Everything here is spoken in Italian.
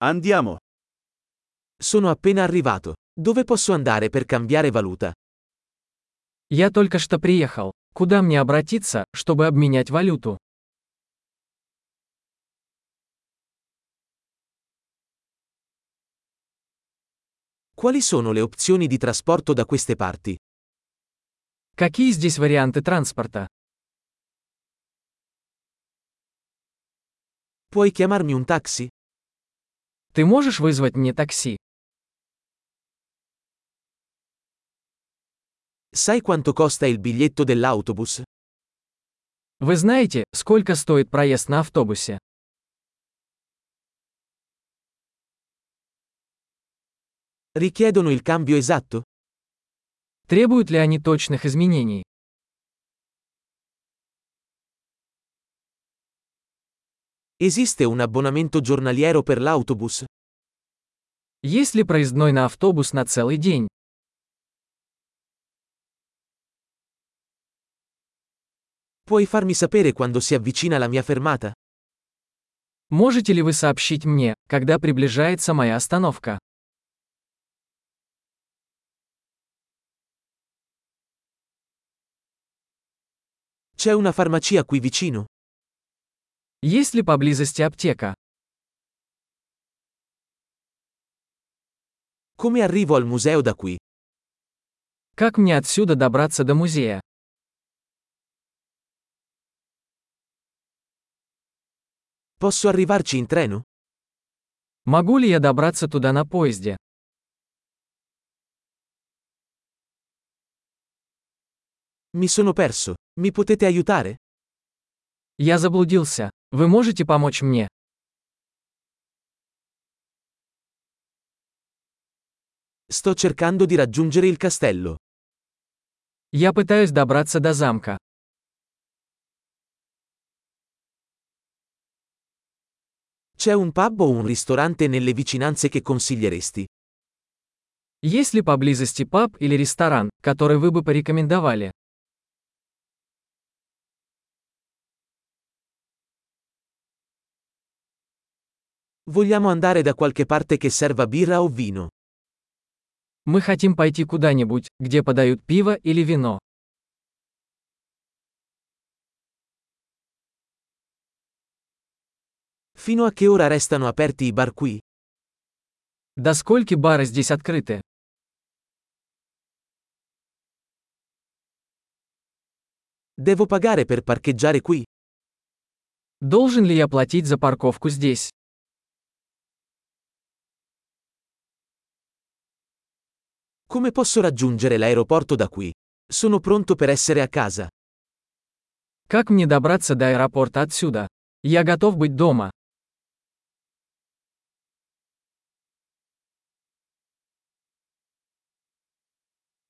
Andiamo. Sono appena arrivato. Dove posso andare per cambiare valuta? Я только что приехал. Куда мне обратиться, чтобы обменять валюту? Quali sono le opzioni di trasporto da queste parti? Какие здесь варианты транспорта? Puoi chiamarmi un taxi? Ты можешь вызвать мне такси? Sai quanto costa il biglietto dell'autobus? Вы знаете, сколько стоит проезд на автобусе? Richiedono il cambio esatto? Требуют ли они точных изменений? Esiste un abbonamento giornaliero per l'autobus? Есть ли проездной на автобус на целый день? Puoi farmi sapere quando si avvicina la mia fermata? Можете ли вы сообщить мне, когда приближается моя остановка? C'è una farmacia qui vicino? Есть ли поблизости аптека? Come arrivo al museo da qui? Как мне отсюда добраться до музея? Posso arrivarci in treno? Могу ли я добраться туда на поезде? Mi sono perso. Mi potete aiutare? Я заблудился. Вы можете помочь мне? Sto cercando di raggiungere il castello. Я пытаюсь добраться до замка. C'è un pub o un ristorante nelle vicinanze che consiglieresti? Есть ли поблизости паб или ресторан, который вы бы порекомендовали? Vogliamo andare da qualche parte che serva birra o vino. Мы хотим пойти куда-нибудь, где подают пиво или вино. Fino a che ora restano aperti i bar qui? До скольки бары здесь открыты? Devo pagare per parcheggiare qui? Должен ли я платить за парковку здесь? Come posso raggiungere l'aeroporto da qui? Sono pronto per essere a casa. Как мне добраться до аэропорта отсюда? Я готов быть дома.